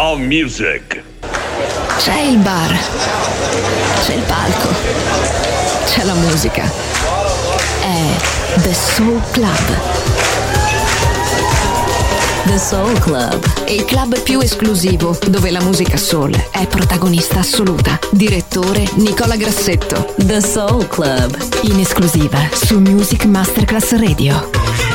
Now Music. C'è il bar, c'è il palco, c'è la musica. È The Soul Club. The Soul Club, il club più esclusivo dove la musica soul è protagonista assoluta. Direttore Nicola Grassetto. The Soul Club, in esclusiva su Music Masterclass Radio.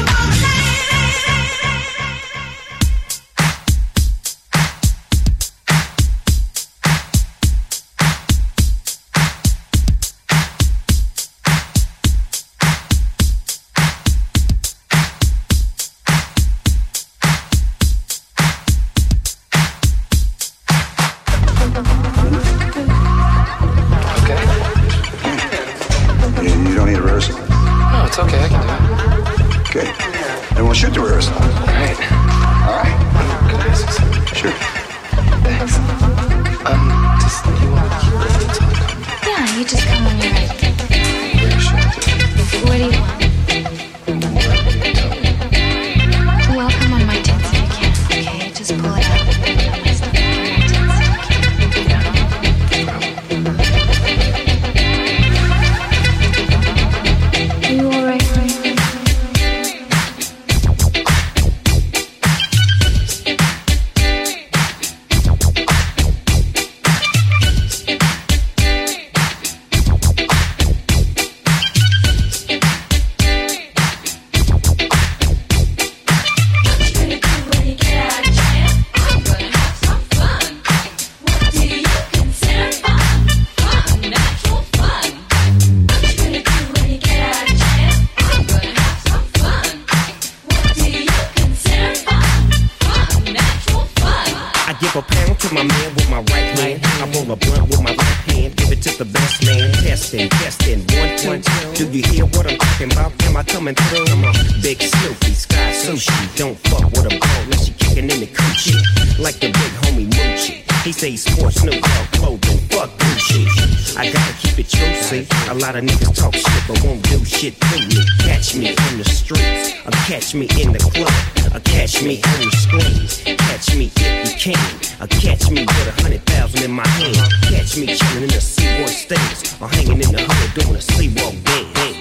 Catch me in the club, catch me on the screen. Catch me if you can, catch me with 100,000 in my hand. Catch me chilling in the Seaboard States, or hanging in the hood doing a sleepwalk dance.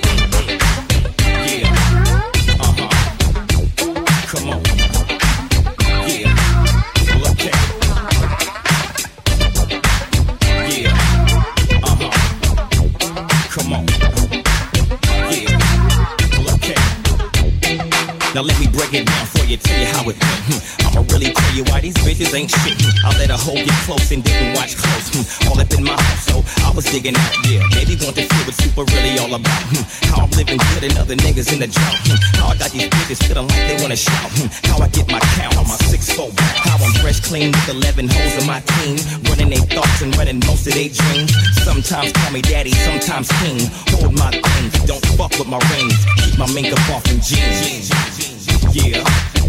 Yeah, come on. Yeah, look at. Yeah, come on. Yeah, look at. Now let me break it down for you, tell you how it went. I'ma really tell you why these bitches ain't shit. I let a hoe get close and didn't watch close. All up in my house, so I was digging out, yeah. Baby want to feel what super really all about. How I'm living good and other niggas in the drought. How I got these bitches feeling like they wanna shout. How I get my count on my 6'4". How I'm fresh, clean with 11 hoes on my team. Running their thoughts and running most of their dreams. Sometimes call me daddy, sometimes king. Hold my things, don't fuck with my rings. Keep my mink up off in jeans. Yeah,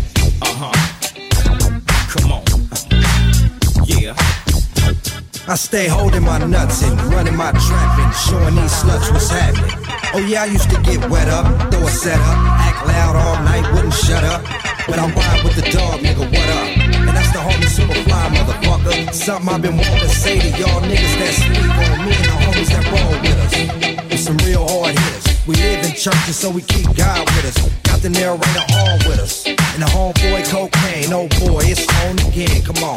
come on, yeah. I stay holding my nuts and running my trap and showing these sluts what's happening. Oh yeah, I used to get wet up, throw a set up, act loud all night, wouldn't shut up. But I ride with the dog, nigga, what up? And that's the homie Superfly, motherfucker. Something I've been wanting to say to y'all niggas that sleep on me and the homies that roll with us. With some real hard hitters. We live in churches, so we keep God with us. Got the narrator on with us. And the homeboy cocaine, oh boy, it's on again, come on.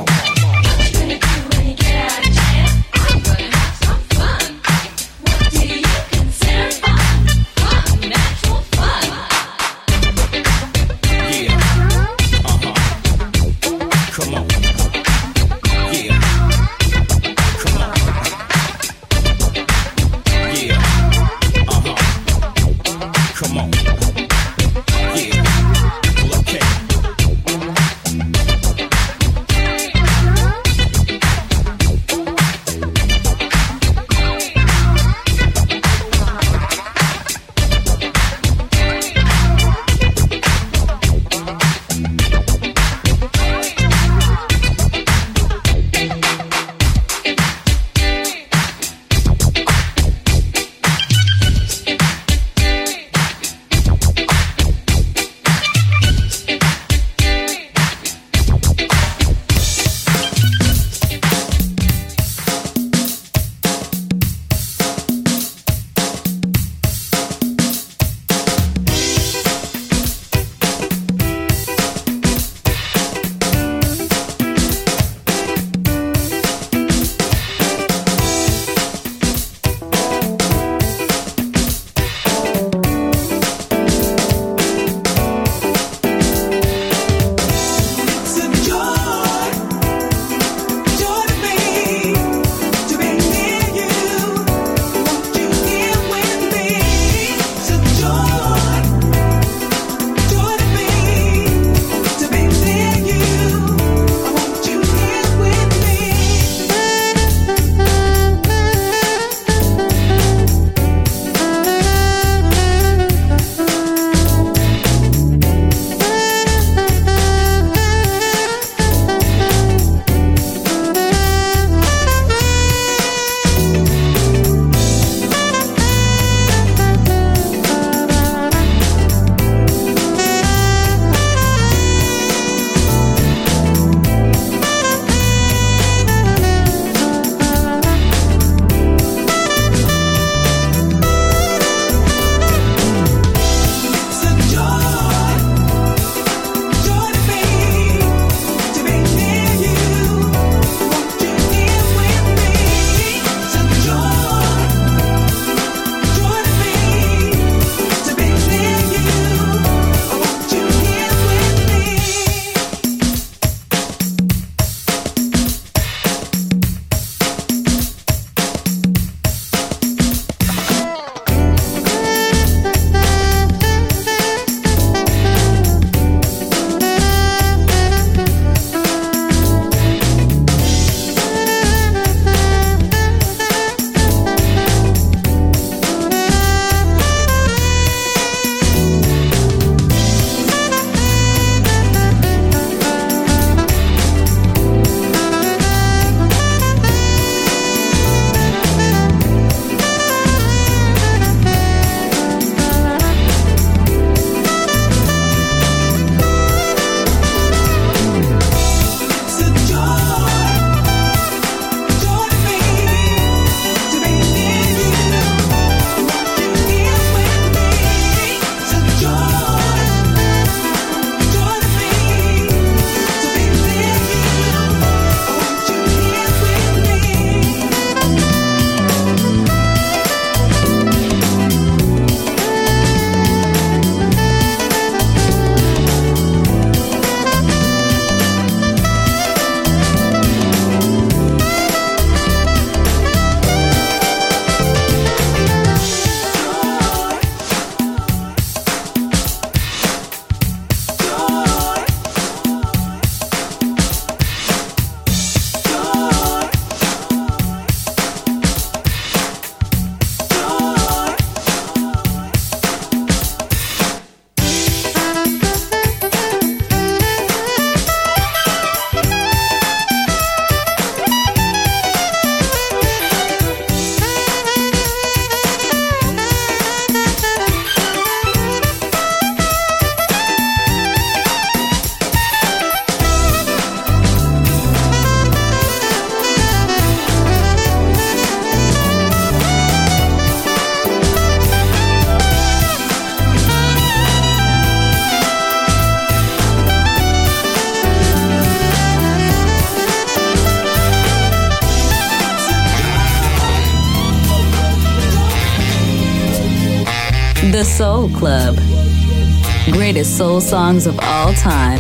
Soul Club. Greatest soul songs of all time.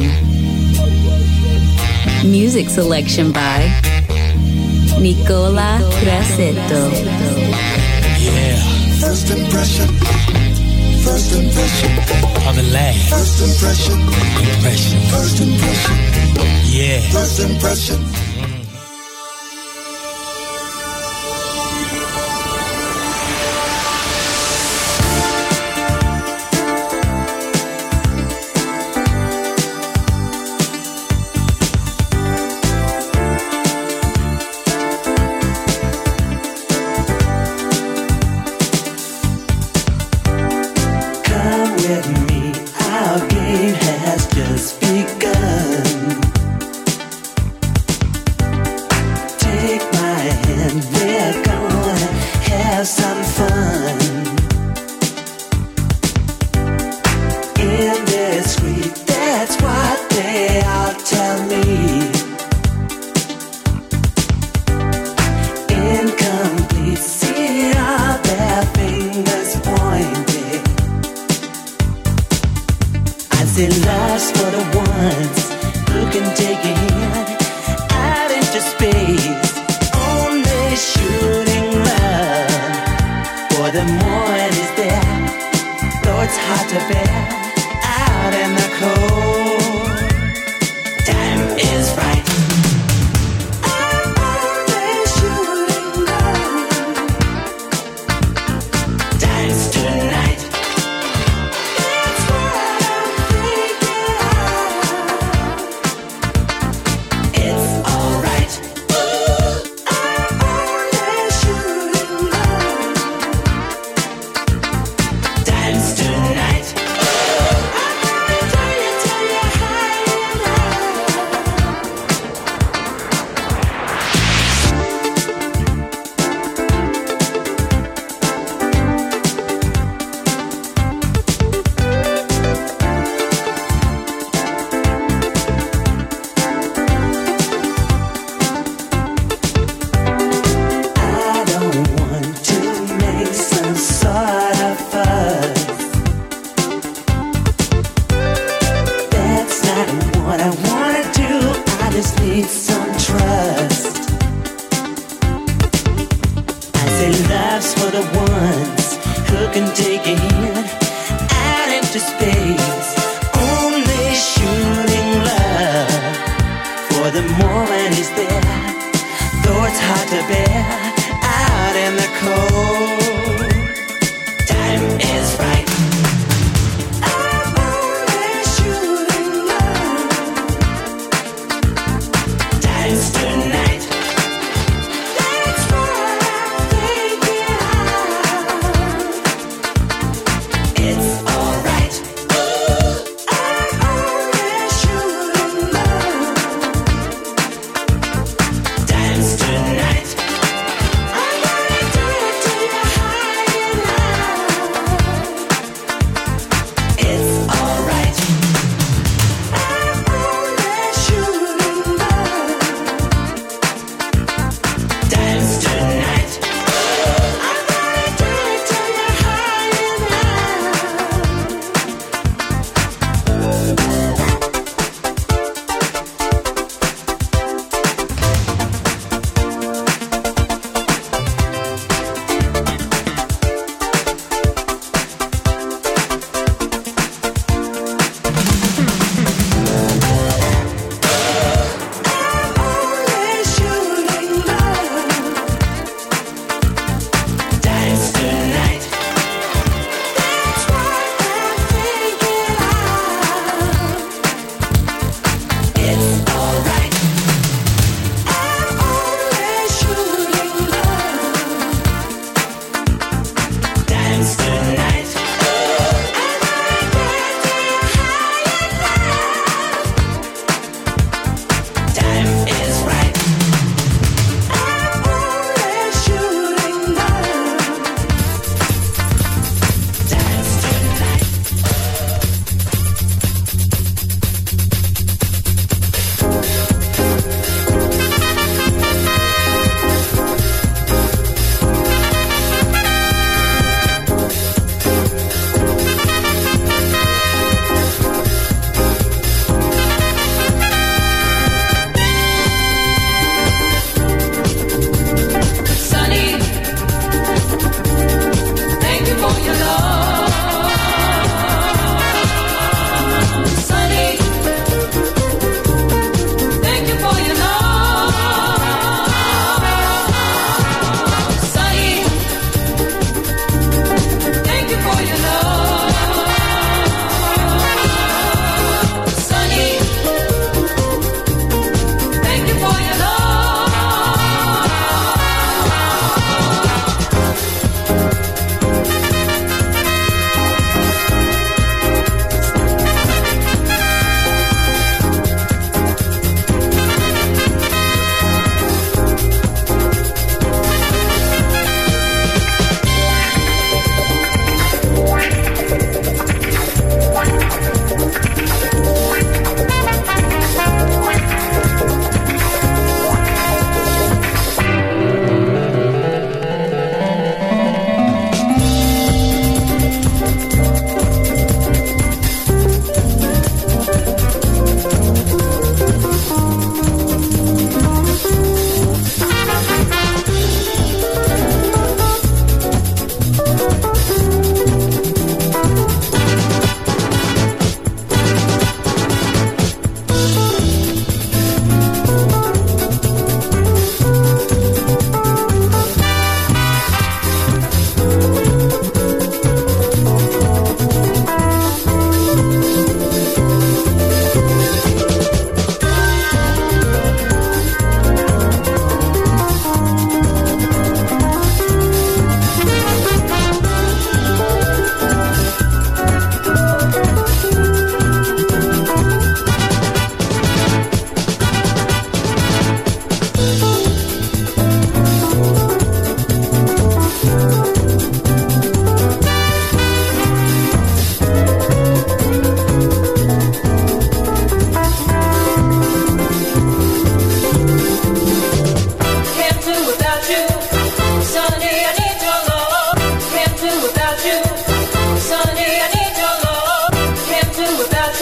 Music selection by Nicola Grassetto. Yeah. First impression. First impression. Of the last. First impression. Impression. First impression. Yeah. First impression.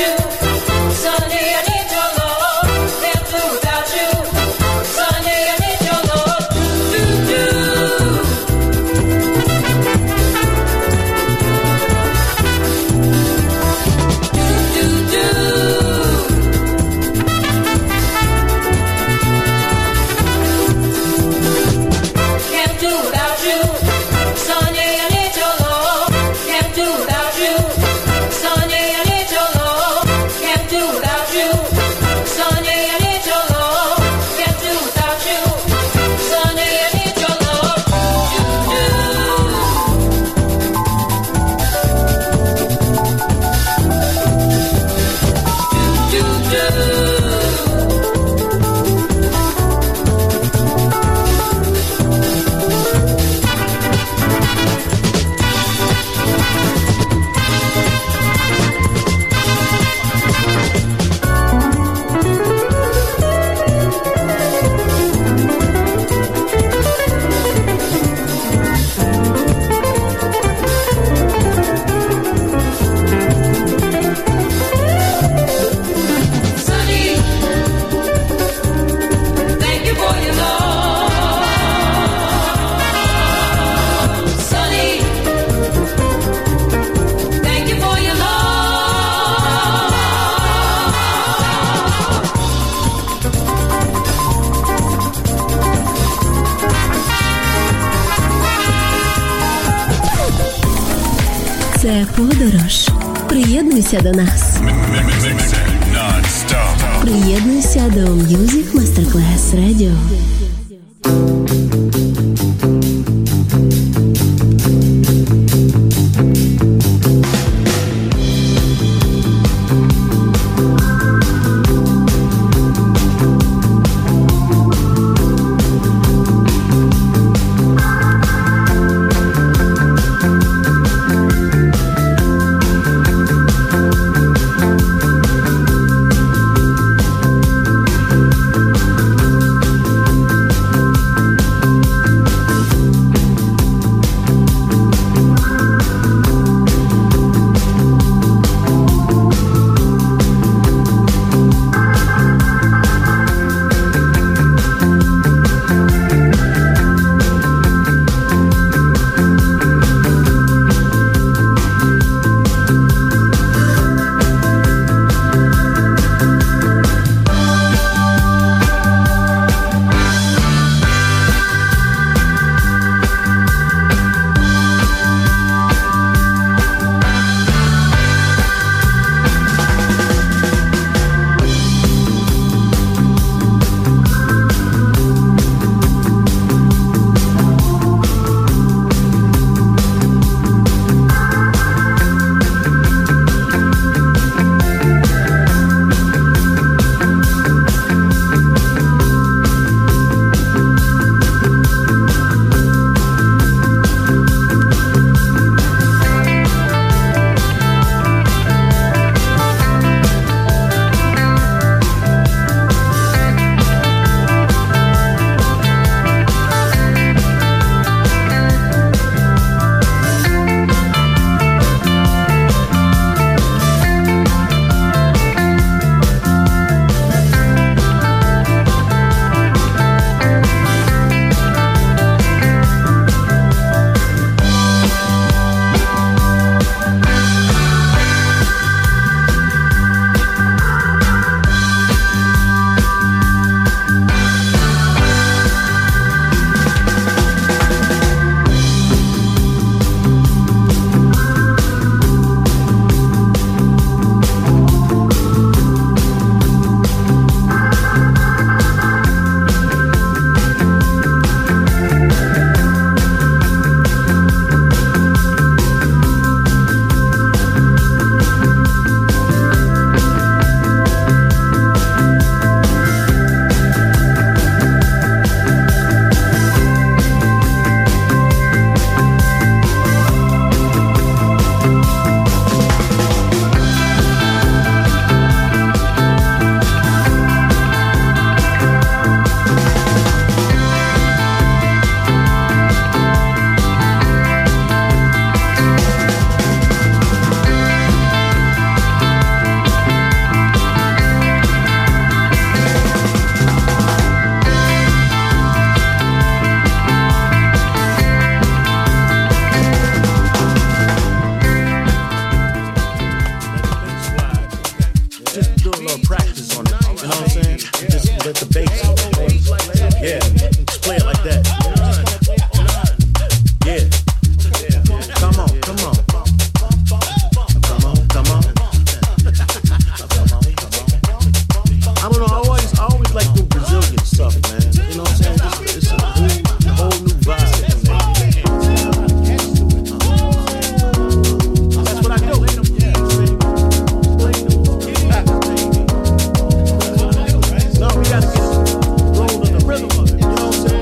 Це подорож. Приєднуйся до нас. Приєднуйся до Music Masterclass Radio. little practice on it. You know what I'm saying? Just let the bass. Yeah, just play it like that. Yeah. Come on, come on. Come on, come on. I don't know, I always like do Brazilian stuff, man. You know what I'm saying? It's a whole new vibe. That's what I do. No, we gotta get rolled on the rhythm of it. You know what I'm saying?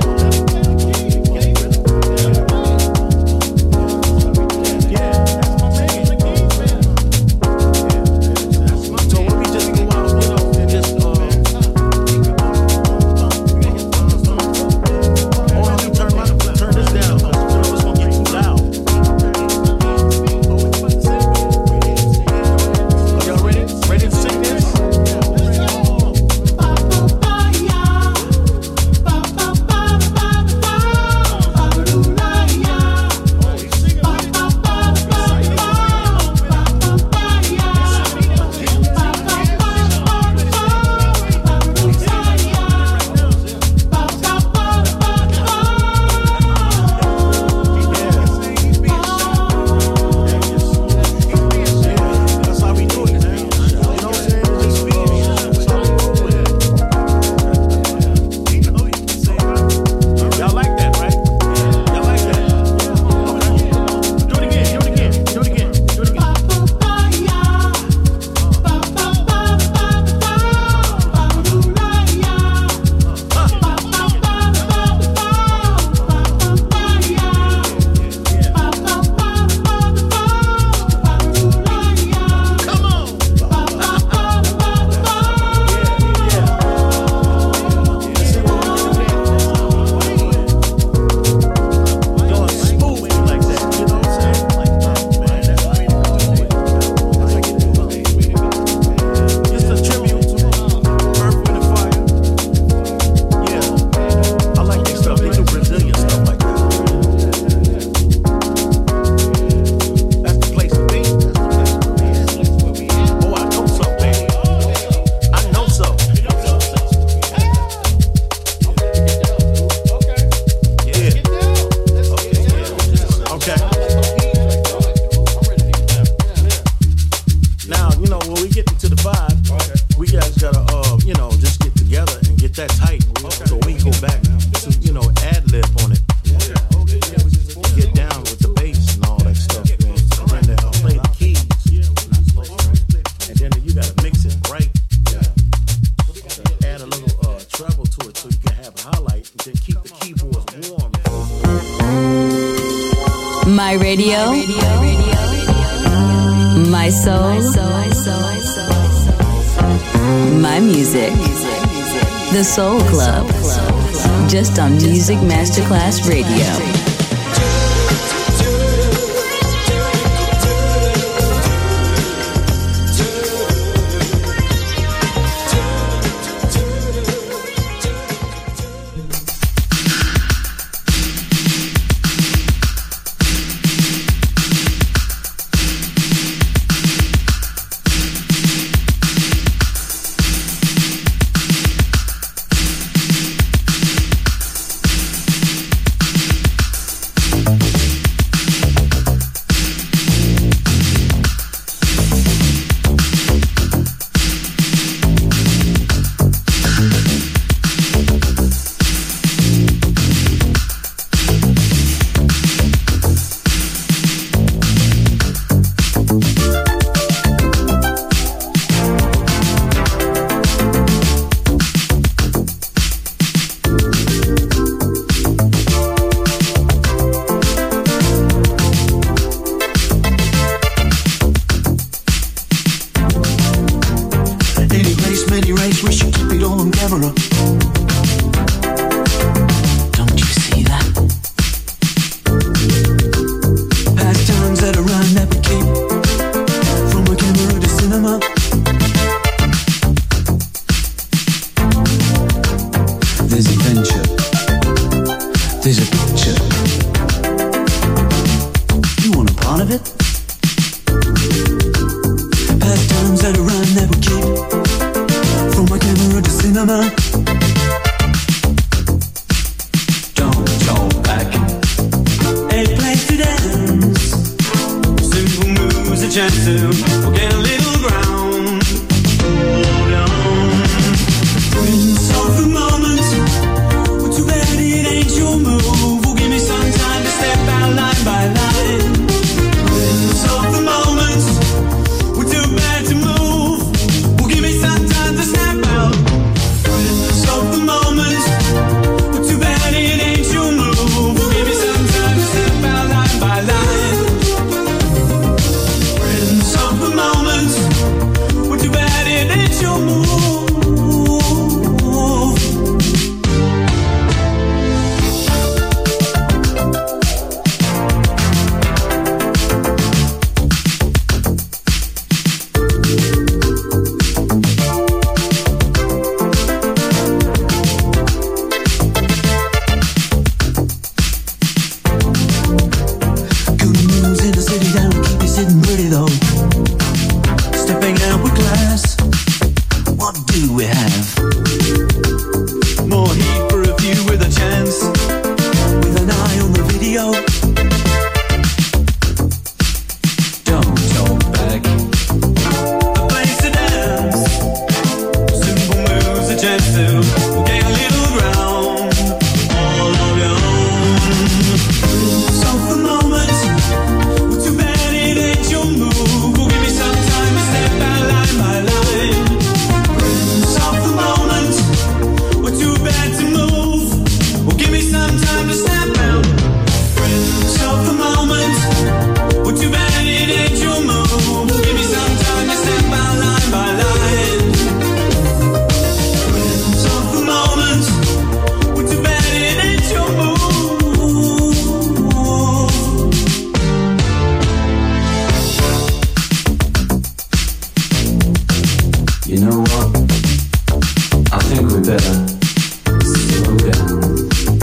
My radio, my soul, my music. The Soul Club, just on Music Masterclass Radio. Pastimes that a rhyme that we keep cinema. Don't go back. A place to dance. Simple moves, a chance to get a little ground. Hold on. Prince of the moment. Well, too bad it ain't your move. Well, give me some time to step out line by line. Prince of the moment. Well, too bad to move. Well, give me some time to snap out. Prince of the moment. Well, too bad it ain't your move. Well, give me some time to step out line by line. Prince of the moment. Well, too bad it ain't your move. Good news in the city that'll keep you sitting pretty though. Stepping out with class. What do we have? More heat for a few with a chance. With an eye on the video. Don't talk back. A place to dance. Simple moves, a chance to gain a little ground. All of your own. So the moment. Well, too bad it ain't your move. Well, give me some time to step out line by line. Prince of the moment. Well, too bad to move. Well, give me some time to snap out. Prince of the moment. Well, too bad it ain't your move. Well, give me some time to step out line by line. Prince of the moment. Well, too bad it ain't your move. You know what? I think we better slow down.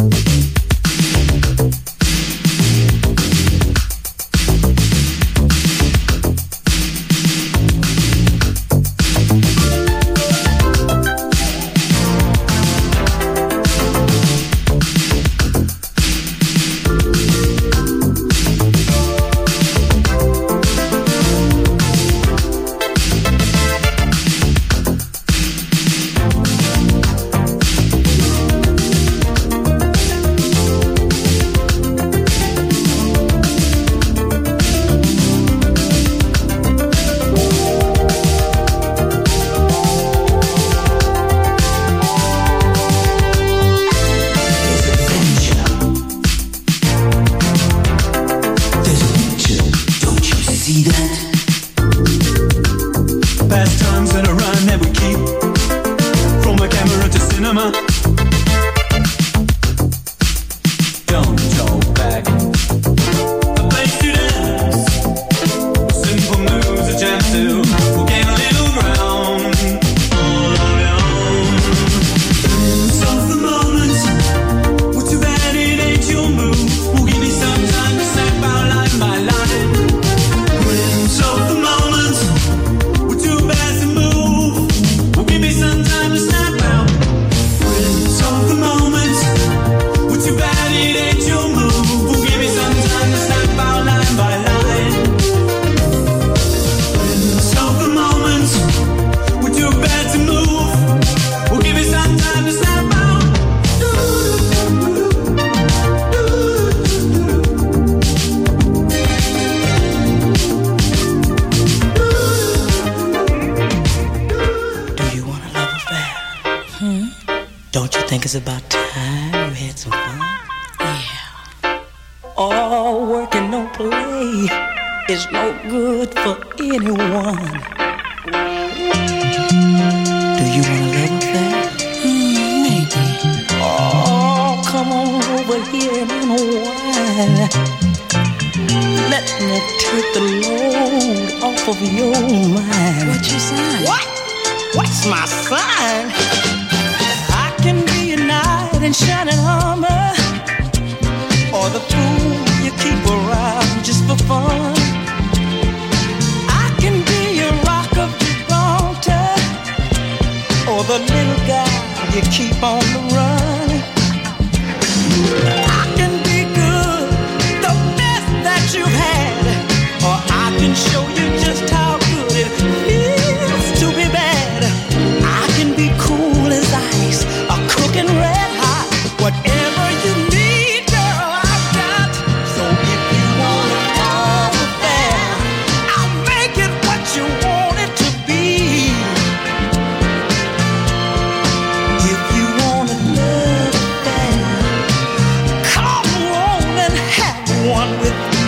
There's a picture, don't you see that? Pastimes that are run that we keep. From a camera to cinema. Don't talk back. A place to dance. Simple moves, a chance to gain a little ground. All on your own. Prince of the moment. Well, too bad it ain't your move. Well, give me some time to step out line by line. Prince of the moment. Well, too bad to move. Well, give me some time to snap out. Prince of the moment. Well, too bad it ain't your move. Well, give me some time to snap out line by line. Prince of the moment. Well, too bad to move. Well, give me some time to snap out. Do you want a love affair? Don't you think it's about time we had some fun? Yeah. All work and no play is no good for anyone. Do you want a love affair? Maybe. Oh, come on over here and unwind. Let me take the load off of your mind. What's your sign? What? What's my sign? I can be a knight in shining armor, or the fool you keep around just for fun. I can be a rock of Gibraltar, or the little guy you keep on the run. I can be good, the best that you've had, or I can show you just how good it feels to be bad. I can be cool as ice, a cooking red hot, whatever you need, girl, I've got. So if you want a love affair, I'll make it what you want it to be. If you want a love affair, come on and have one with me.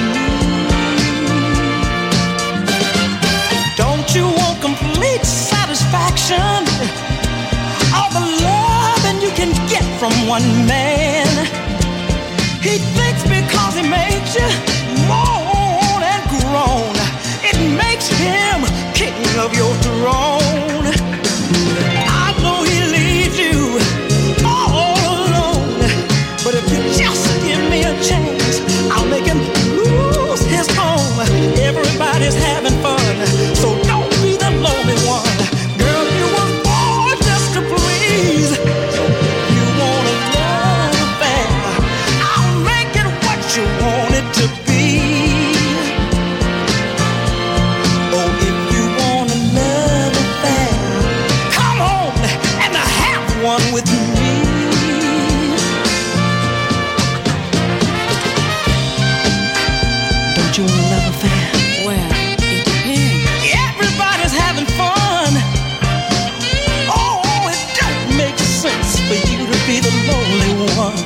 Don't you want complete satisfaction? All the loving you can get from one man. He thinks because he makes you moan and groan, it makes him king of your throne. I know he leaves you all alone, but if you just give me a chance, I'll make him lose his home. Everybody's having fun, so don't be the lonely one. Girl, you were born just to please. So if you want a love affair, I'll make it what you want it to be. Oh, if you want a love affair, come on and have one with me. Don't you want a love affair? Well, it depends. Everybody's having fun. Oh, it don't make sense for you to be the lonely one.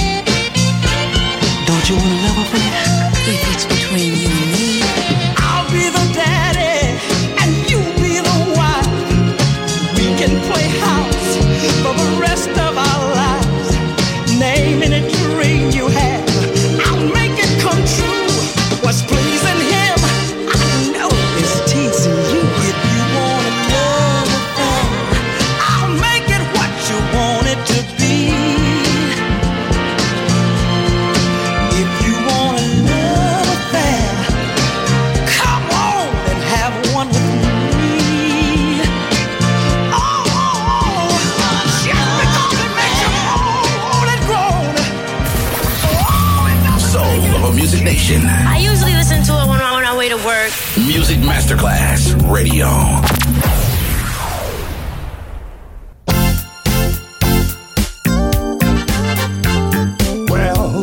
Don't you want a love affair? If it's between you and me, I'll be the daddy and you be the wife. We can play house for the rest of our lives. Name any dream you have, I'll make it come true. What's pleasing him, I know is teasing you. If you want a love affair, I'll make it what you want it to be. If you want a love affair, come on and have one with me. Oh, just because it makes you moan and groan. Oh, it doesn't Soul of a Music Nation. I usually listen to it when I'm on my way to work. Music Masterclass Radio. Well,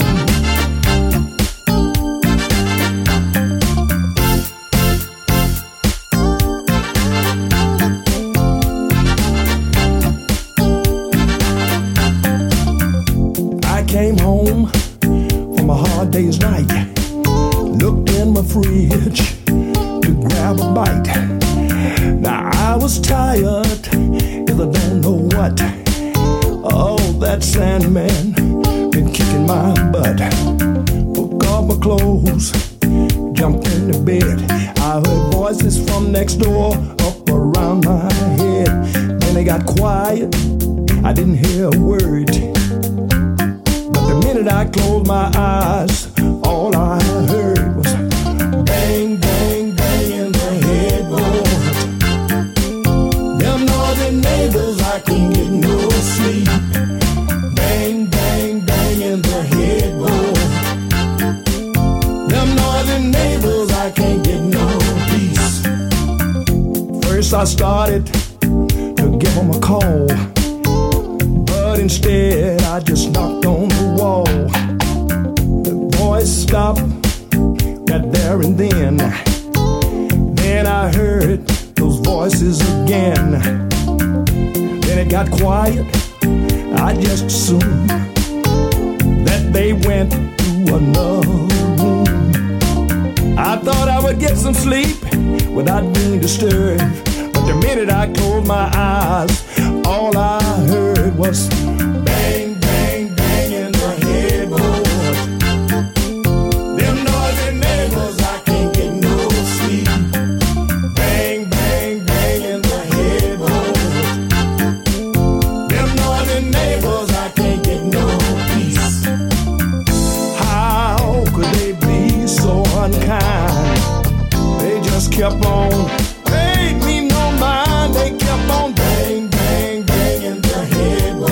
I came home from a hard day's night, looked in my fridge to grab a bite. Now I was tired, cause I don't know what. Oh, that Sandman been kicking my butt. Took off my clothes, jumped in the bed. I heard voices from next door up around my head. Then they got quiet, I didn't hear a word. But the minute I closed my eyes, all I heard was bang, bang, bang in the headboard. Them noisy neighbors, I couldn't get no sleep. Bang, bang, bang in the headboard. Them noisy neighbors, I can't get no peace. First I started to give them a call, but instead I just knocked on the wall. The voice stopped right there and then. Then I heard those voices again. Then it got quiet, I just assumed that they went to another room. I thought I would get some sleep without being disturbed, but the minute I closed my eyes, all I heard was bang, bang, bang in the headboard. Them noisy neighbors, I can't get no sleep. Bang, bang, bang in the headboard. Them noisy neighbors, I can't get no peace. How could they be so unkind? They just kept on, paid me no mind. They kept on bang, bang, bang in the headboard.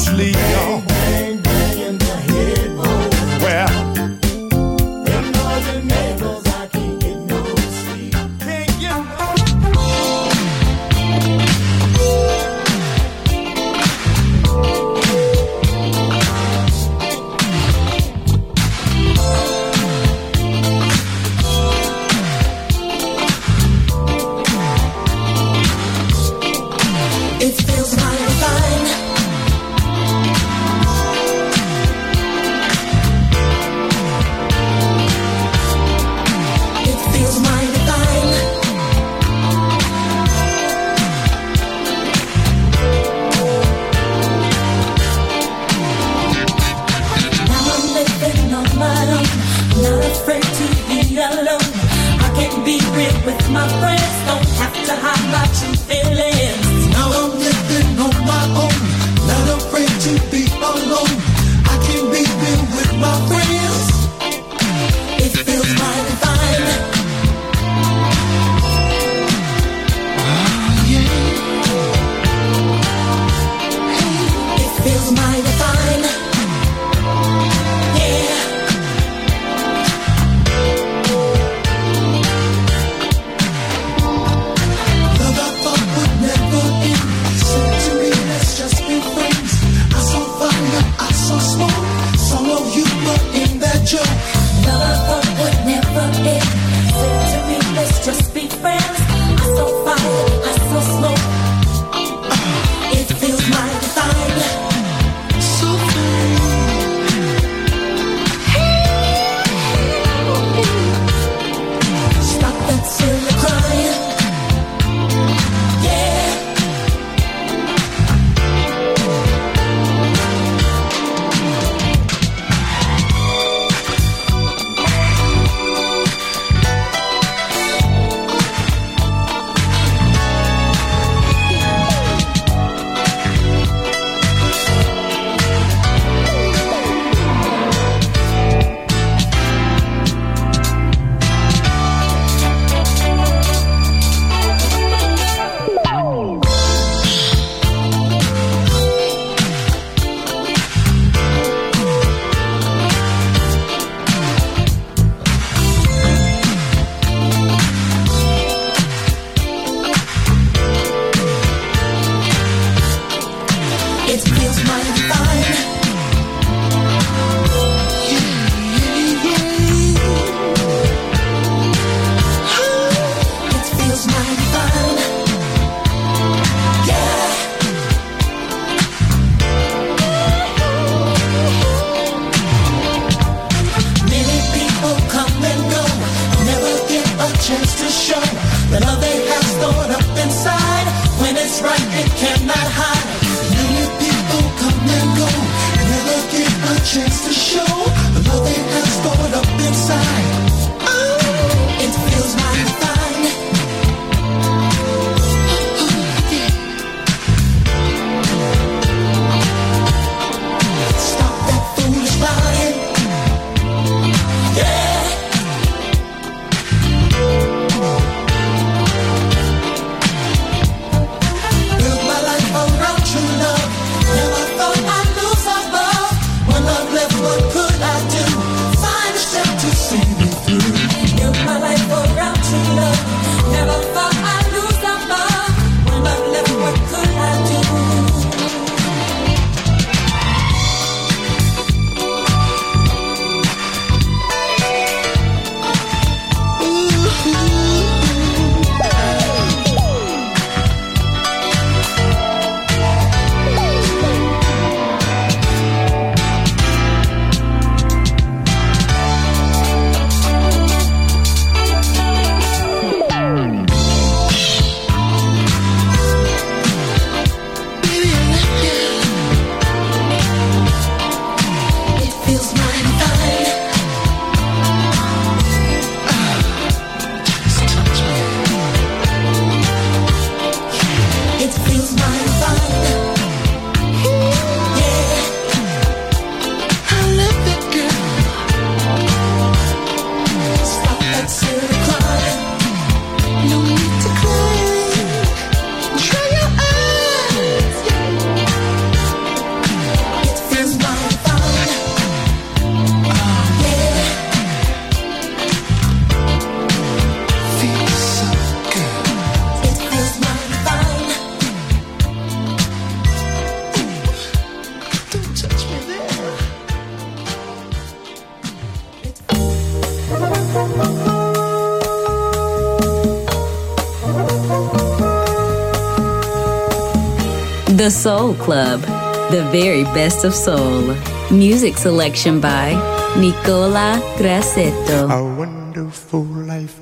sleep, y'all. Bang, bang in the headboard. Well, Them noisy neighbors, I can't get no sleep. can't get It feels mighty fine The Soul Club, the very best of soul. Music selection by Nicola Grassetto. A wonderful life.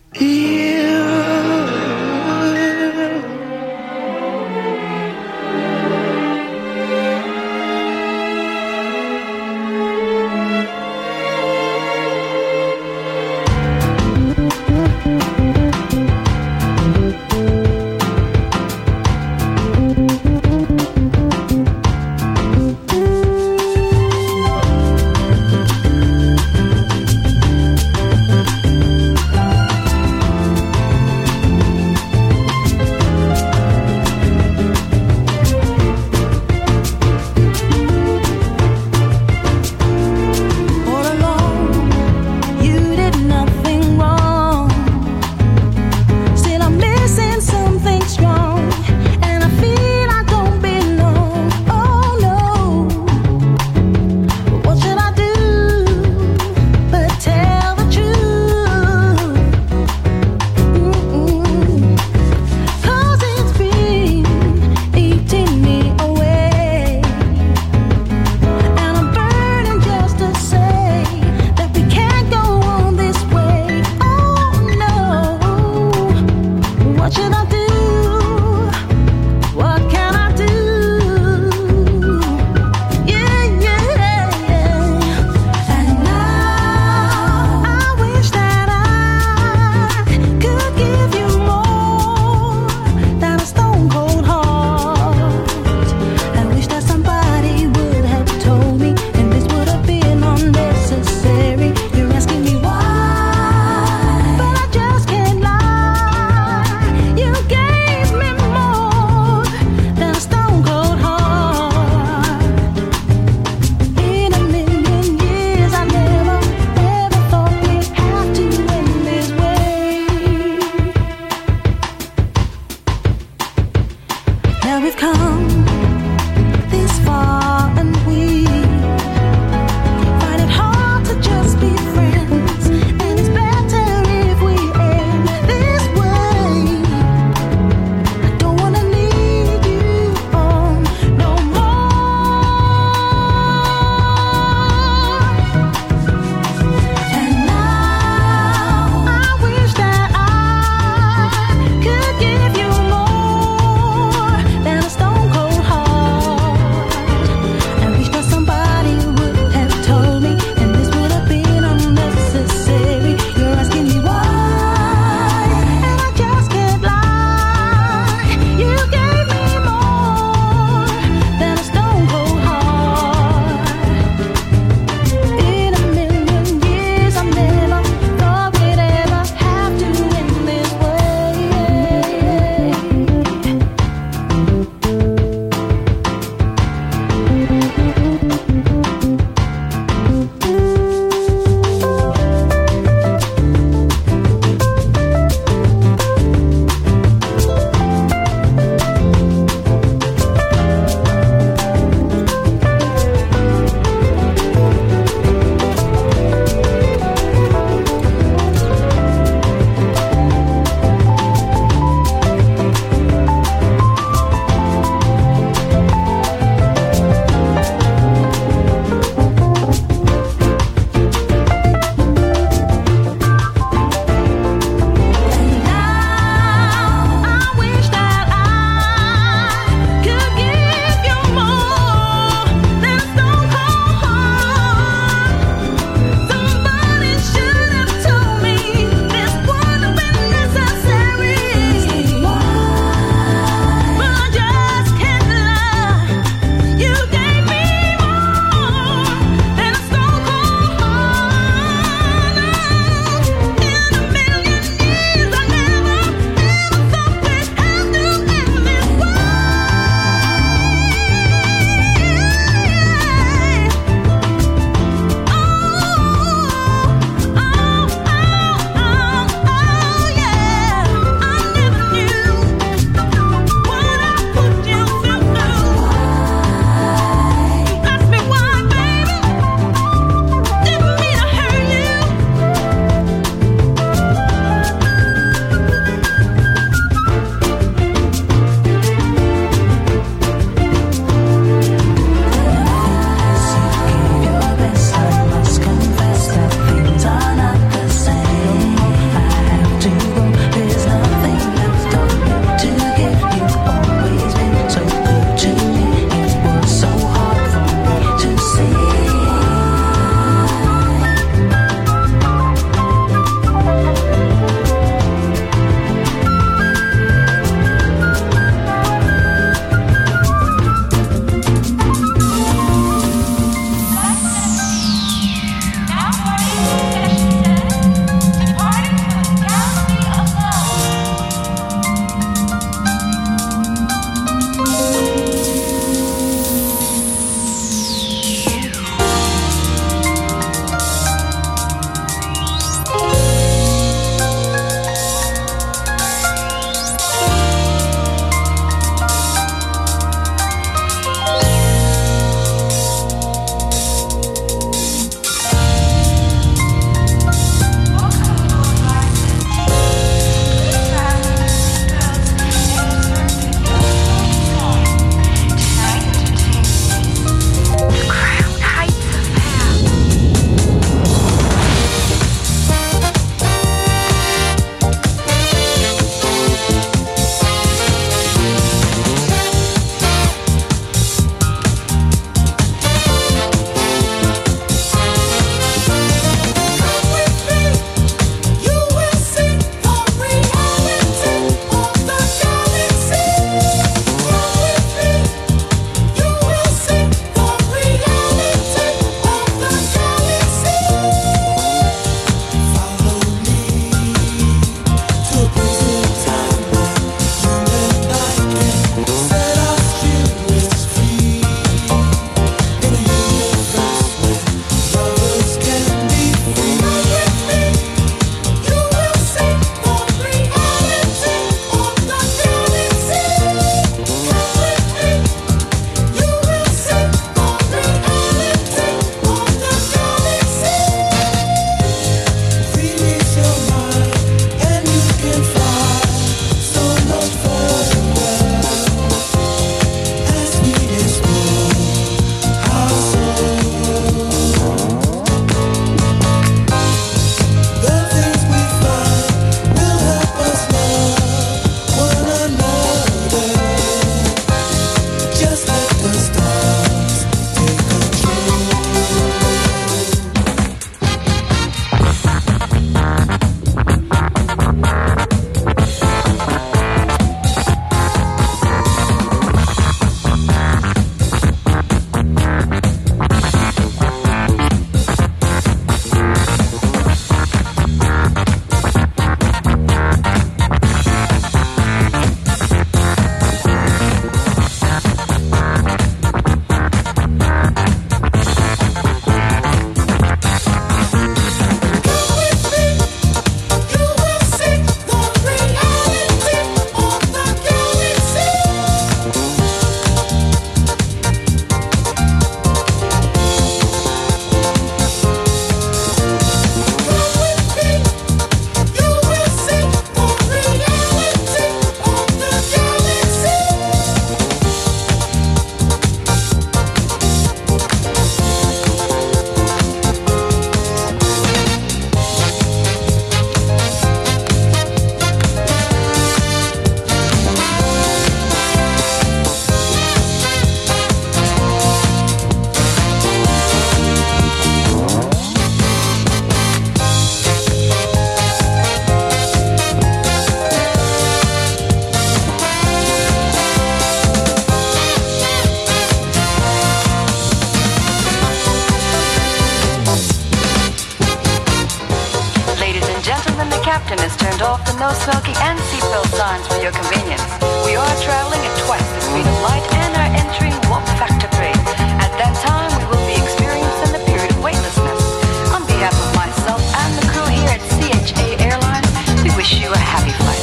curtain is turned off, the no smoking and seatbelt signs for your convenience. We are traveling at twice the speed of light and are entering warp factor grade. At that time, we will be experiencing the period of weightlessness. On behalf of myself and the crew here at CHA Airlines, we wish you a happy flight.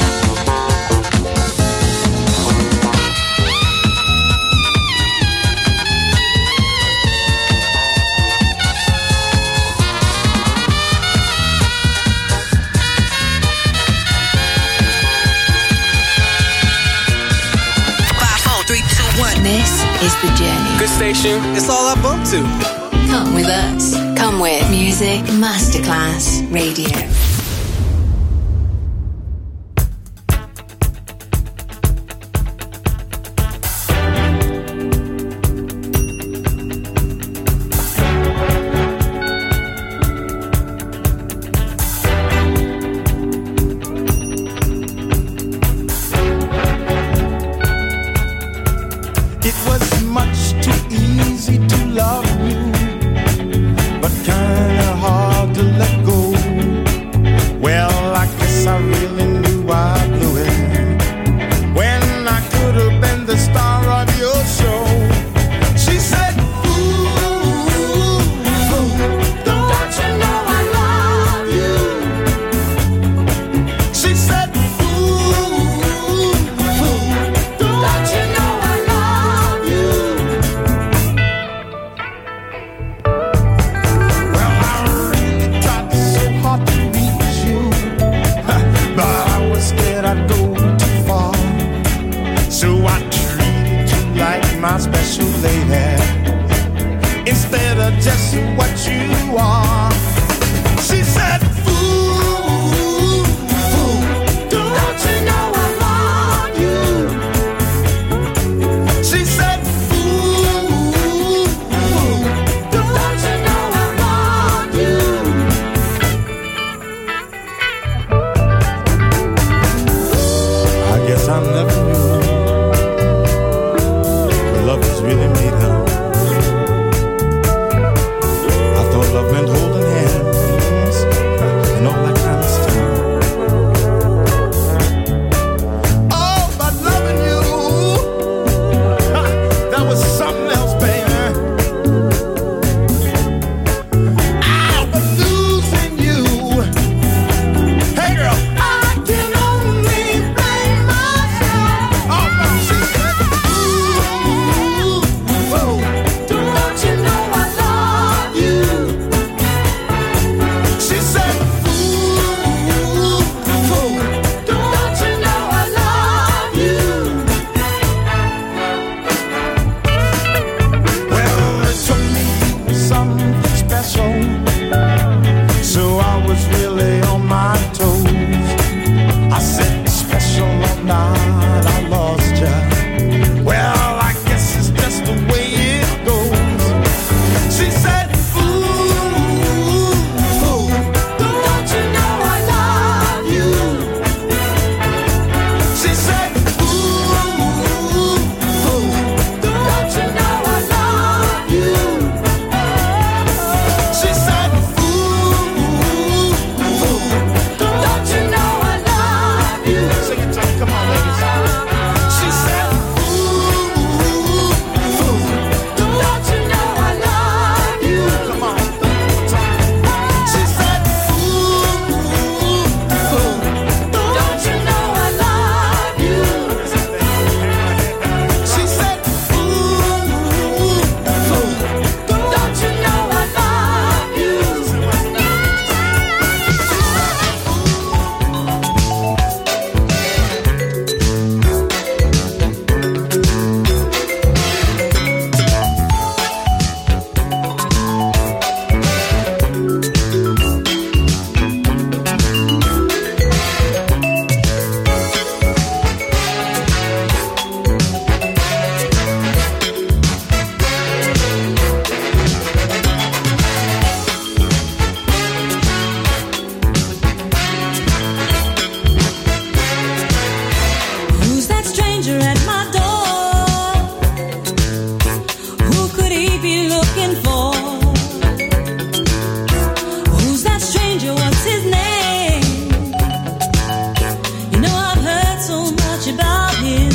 This is the journey. Good station. It's all I bump to. Come with us. Come with Music Masterclass Radio.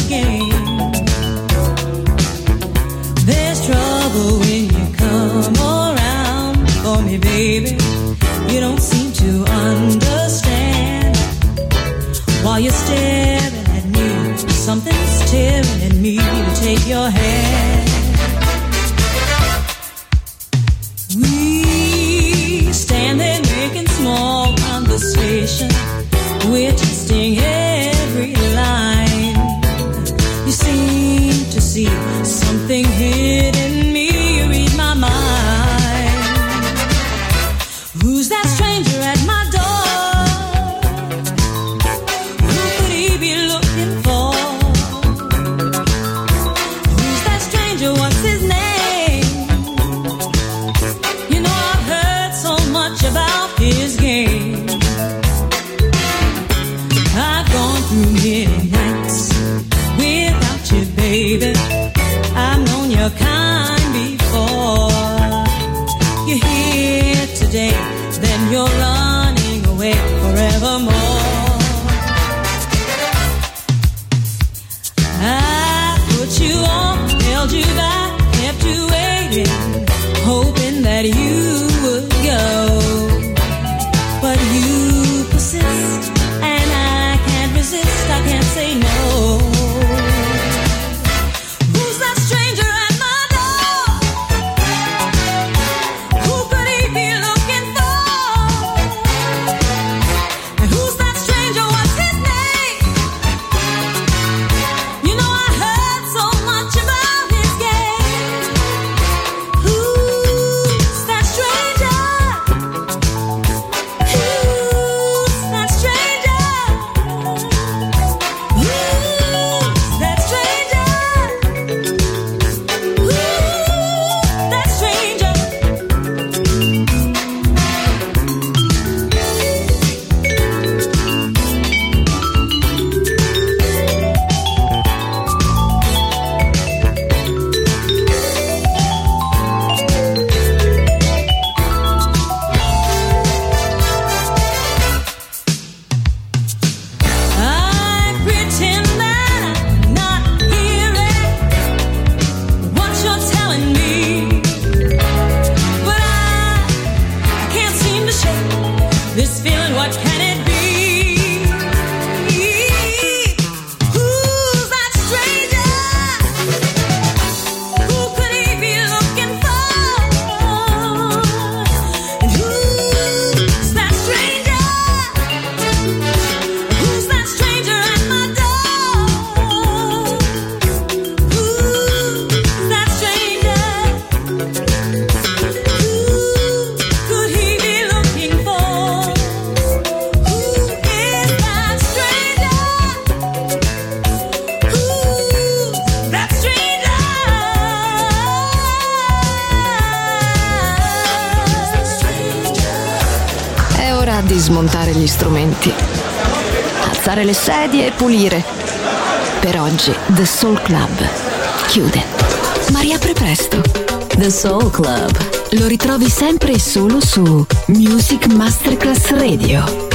his game. There's trouble when you come around for me, baby. You don't seem to understand. While you're staring at me, something's tearing at me to take your hand. We stand there making small conversation. We're testing every line. You seem to see something hidden in me. You read my mind. Who's that stranger at my door? Who could he be looking for? Who's that stranger? What's his name? You know I've heard so much about his game. I've gone through many nights without you, baby. I've known your kind before. You're here today, then you're running away forevermore. I put you on, held you back, kept you waiting, hoping that you would go. But you persist, and I can't resist, I can't say no. Who's that stranger at my door? Who could he be looking for? And who's that stranger? What's his name? You know I heard so much about his game. Who's that stranger? Who's that stranger? Who's that stranger? Who's that stranger? I pretend that I'm not hearing what you're telling me, but I can't seem to shake this feeling. What can it be? Who's that stranger? Who could he be looking for? And who's that stranger? Who's that stranger at my door? Who's that stranger? Who could he be looking for? Who is that stranger? Who's that stranger? È ora di smontare gli strumenti, alzare le sedie e pulire. Per oggi The Soul Club chiude, ma riapre presto. The Soul Club. Lo ritrovi sempre e solo su Music Masterclass Radio.